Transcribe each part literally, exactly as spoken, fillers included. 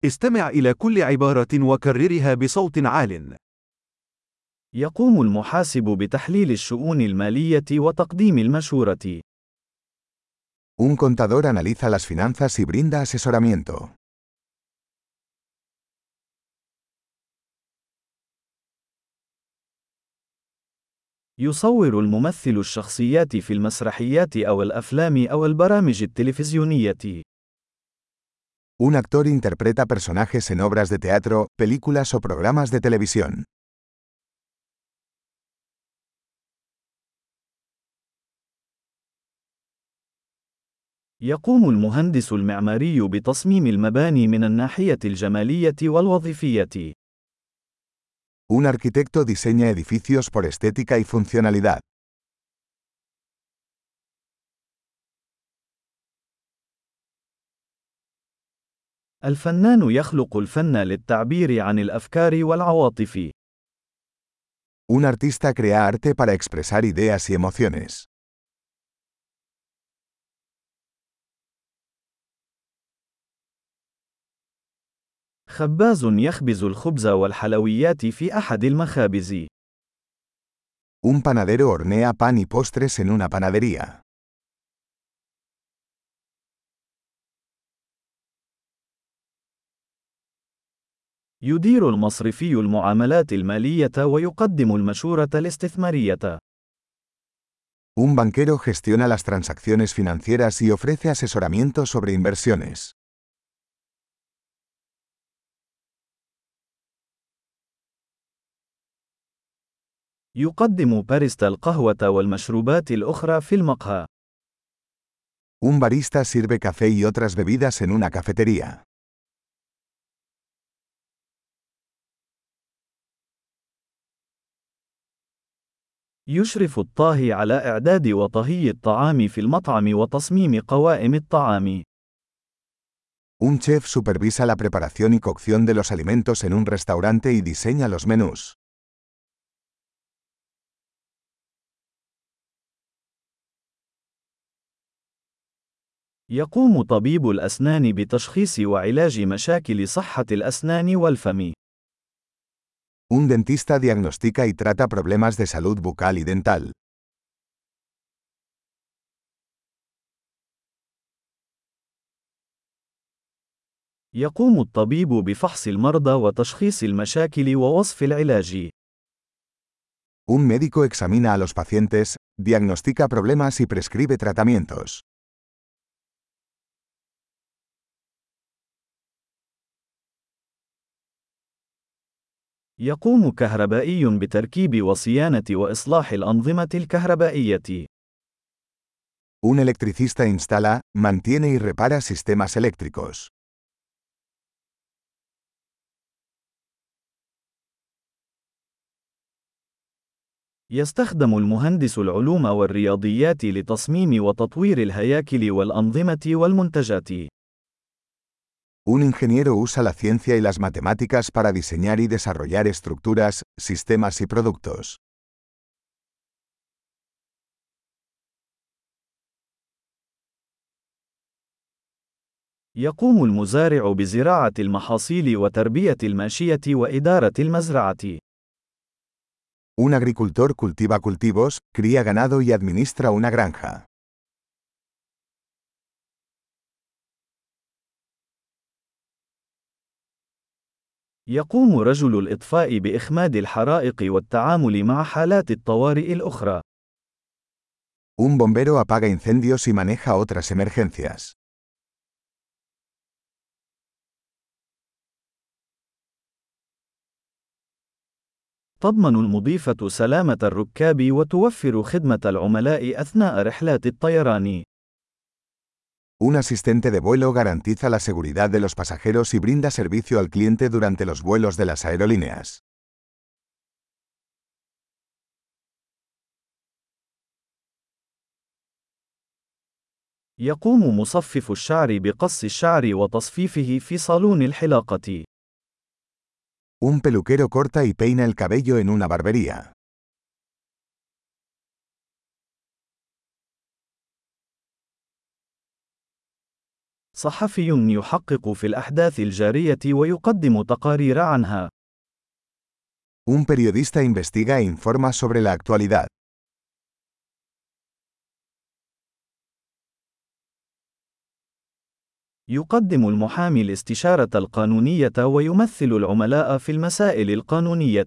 استمع إلى كل عبارة وكررها بصوت عال. يقوم المحاسب بتحليل الشؤون المالية وتقديم المشورة. Un contador analiza las finanzas y brinda asesoramiento. يصور الممثل الشخصيات في المسرحيات أو الأفلام أو البرامج التلفزيونية. Un actor interpreta personajes en obras de teatro, películas o programas de televisión. يقوم المهندس المعماري بتصميم المباني من الناحية الجمالية والوظيفية. Un arquitecto diseña edificios por estética y funcionalidad. الفنان يخلق الفن للتعبير عن الأفكار والعواطف. Un artista crea arte para expresar ideas y emociones. خباز يخبز الخبز والحلويات في أحد المخابز. Un panadero hornea pan y postres en una panadería. يدير المصرفي المعاملات المالية ويقدم المشورة الاستثمارية. Un banquero gestiona las transacciones financieras y ofrece asesoramiento sobre inversiones. يقدم باريستا القهوة والمشروبات الأخرى في المقهى. Un barista sirve café y otras bebidas en una cafetería. يشرف الطاهي على إعداد وطهي الطعام في المطعم وتصميم قوائم الطعام. Un chef supervisa la preparación y cocción de los alimentos en un restaurante y diseña los menús. يقوم طبيب الأسنان بتشخيص وعلاج مشاكل صحة الأسنان والفم. Un dentista diagnostica y trata problemas de salud bucal y dental. يقوم الطبيب بفحص المرضى وتشخيص المشاكل ووصف العلاج. Un médico examina a los pacientes, diagnostica problemas y prescribe tratamientos. يقوم كهربائي بتركيب وصيانة وإصلاح الأنظمة الكهربائية. Un electricista instala, mantiene y repara sistemas eléctricos. يستخدم المهندس العلوم والرياضيات لتصميم وتطوير الهياكل والأنظمة والمنتجات. Un ingeniero usa la ciencia y las matemáticas para diseñar y desarrollar estructuras, sistemas y productos. يقوم المزارع بزراعة المحاصيل وتربية الماشية وإدارة المزرعة. Un agricultor cultiva cultivos, cría ganado y administra una granja. يقوم رجل الإطفاء بإخماد الحرائق والتعامل مع حالات الطوارئ الأخرى. Un bombero apaga incendios y maneja otras emergencias. تضمن المضيفة سلامة الركاب وتوفر خدمة العملاء أثناء رحلات الطيران. Un asistente de vuelo garantiza la seguridad de los pasajeros y brinda servicio al cliente durante los vuelos de las aerolíneas. يقوم مصفف الشعر بقص الشعر وتصفيفه في صالون الحلاقة. Un peluquero corta y peina el cabello en una barbería. صحفي يحقق في الأحداث الجارية ويقدم تقارير عنها. Un periodista investiga e informa sobre la actualidad. يقدم المحامي الاستشارة القانونية ويمثل العملاء في المسائل القانونية.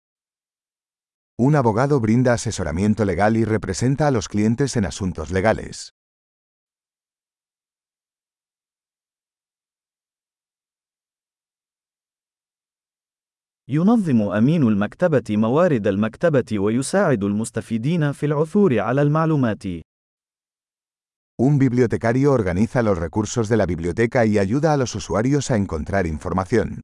Un abogado brinda asesoramiento legal y representa a los clientes en asuntos legales. ينظم أمين المكتبة موارد المكتبة ويساعد المستفيدين في العثور على المعلومات. Un bibliotecario organiza los recursos de la biblioteca y ayuda a los usuarios a encontrar información.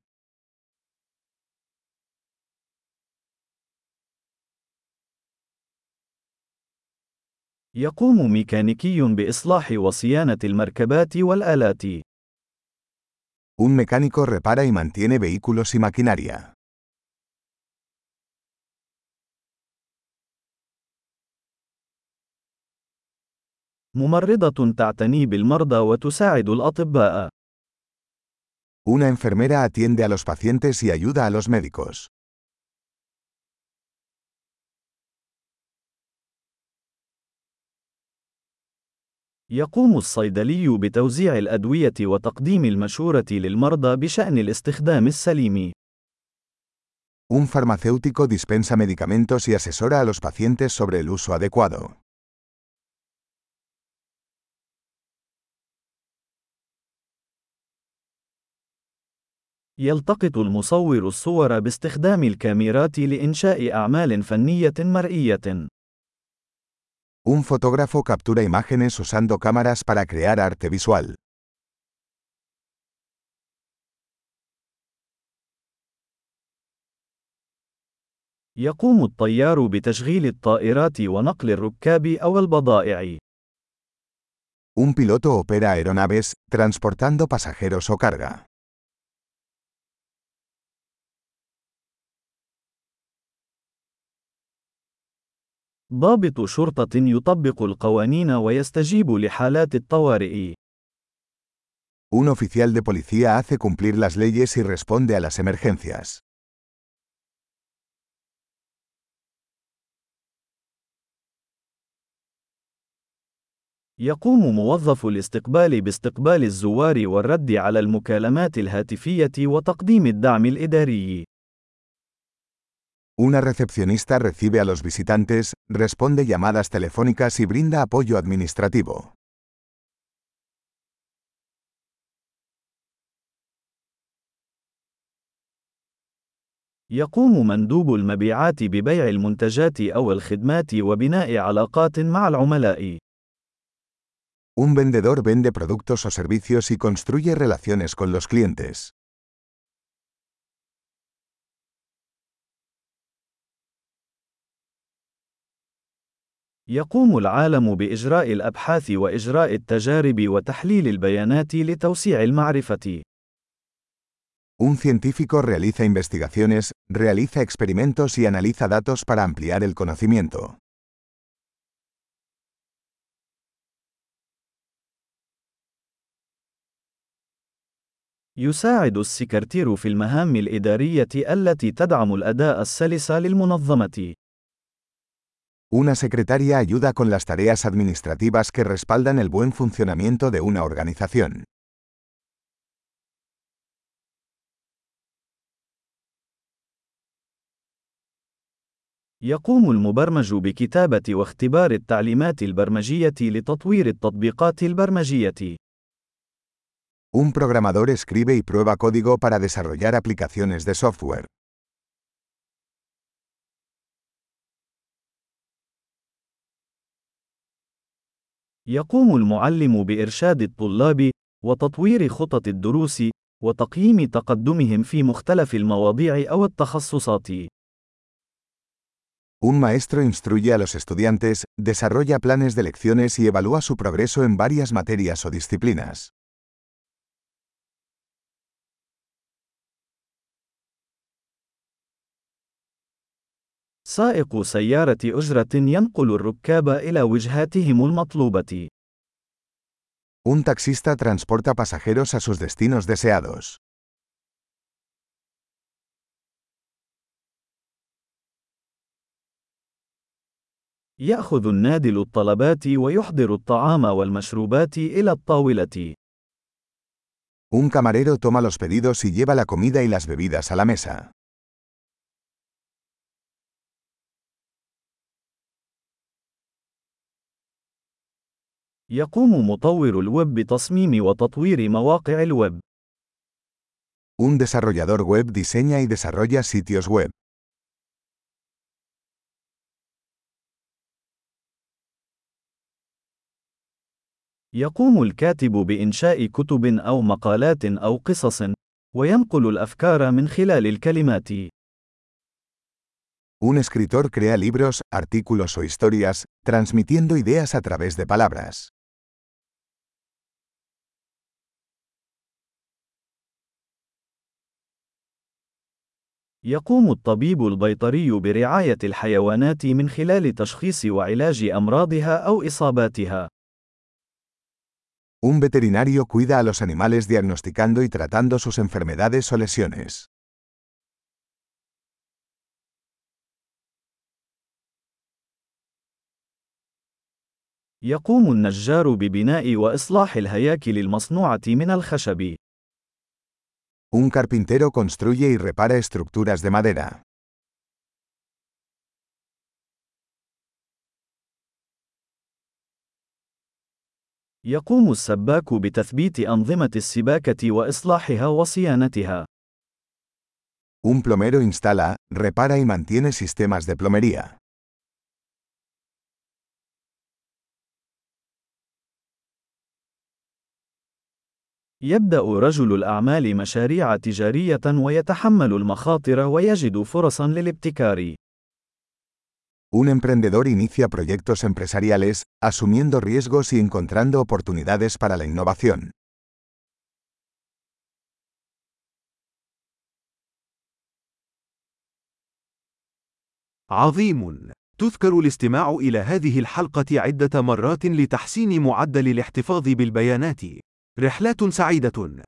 يقوم ميكانيكي بإصلاح وصيانة المركبات والآلات. Un mecánico repara y mantiene vehículos y maquinaria. ممرضة تعتني بالمرضى وتساعد الأطباء. Una enfermera atiende a los pacientes y ayuda a los médicos. يقوم الصيدلي بتوزيع الأدوية وتقديم المشورة للمرضى بشأن الاستخدام السليم. Un farmacéutico dispensa medicamentos y asesora a los pacientes sobre el uso adecuado. يلتقط المصور الصور باستخدام الكاميرات لإنشاء أعمال فنية مرئية. Un fotógrafo captura imágenes usando cámaras para crear arte visual. يقوم الطيار بتشغيل الطائرات ونقل الركاب أو البضائع. Un piloto opera aeronaves, transportando pasajeros o carga. ضابط شرطة يطبق القوانين ويستجيب لحالات الطوارئ. Un oficial de policía hace cumplir las leyes y responde a las emergencias. يقوم موظف الاستقبال باستقبال الزوار والرد على المكالمات الهاتفية وتقديم الدعم الإداري. Una recepcionista recibe a los visitantes, responde llamadas telefónicas y brinda apoyo administrativo. يقوم مندوب المبيعات ببيع المنتجات أو الخدمات وبناء علاقات مع العملاء. Un vendedor vende productos o servicios y construye relaciones con los clientes. يقوم العالم بإجراء الأبحاث وإجراء التجارب وتحليل البيانات لتوسيع المعرفة. Un científico realiza investigaciones, realiza experimentos y analiza datos para ampliar el conocimiento. يساعد السكرتير في المهام الإدارية التي تدعم الأداء السلس للمنظمة. Una secretaria ayuda con las tareas administrativas que respaldan el buen funcionamiento de una organización. يقوم المبرمج بكتابة واختبار التعليمات البرمجية لتطوير التطبيقات البرمجية. Un programador escribe y prueba código para desarrollar aplicaciones de software. يقوم المعلم بإرشاد الطلاب وتطوير خطط الدروس وتقييم تقدمهم في مختلف المواضيع أو التخصصات. Un maestro instruye a los estudiantes, desarrolla planes de lecciones y evalúa su progreso en varias materias o disciplinas. سائق سيارة أجرة ينقل الركاب إلى وجهاتهم المطلوبة. Un taxista transporta pasajeros a sus destinos deseados. يأخذ النادل الطلبات ويحضر الطعام والمشروبات إلى الطاولة. Un camarero toma los pedidos y lleva la comida y las bebidas a la mesa. يقوم مطور الويب بتصميم وتطوير مواقع الويب. Un desarrollador web diseña y desarrolla sitios web. يقوم الكاتب بإنشاء كتب أو مقالات أو قصص، وينقل الأفكار من خلال الكلمات. Un escritor crea libros, artículos o historias, transmitiendo ideas a través de palabras. يقوم الطبيب البيطري برعاية الحيوانات من خلال تشخيص وعلاج أمراضها أو إصاباتها. Un veterinario cuida a los animales diagnosticando y tratando sus enfermedades o lesiones. يقوم النجار ببناء وإصلاح الهياكل المصنوعة من الخشب. Un carpintero construye y repara estructuras de madera. يقوم السباك بتثبيت أنظمة السباكة وإصلاحها وصيانتها. Un plomero instala, repara y mantiene sistemas de plomería. يبدأ رجل الأعمال مشاريع تجارية ويتحمل المخاطر ويجد فرصا للابتكار. Un emprendedor inicia proyectos empresariales, asumiendo riesgos y encontrando oportunidades para la innovación. عظيم. تذكر الاستماع إلى هذه الحلقة عدة مرات لتحسين معدل الاحتفاظ بالبيانات. رحلات سعيدة.